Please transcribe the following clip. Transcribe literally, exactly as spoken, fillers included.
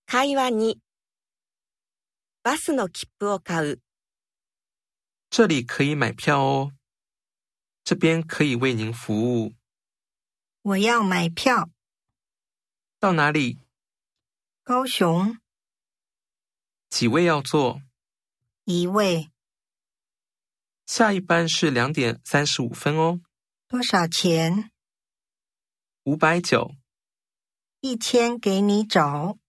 会話にバスの切符を買う。 这里可以买票哦。这边可以为您服务。 我要买票。 到哪里？ 高雄。 几位要坐？ 一位。 下一班是两点三十五分哦。 多少钱？ 五百九。 一千给你找。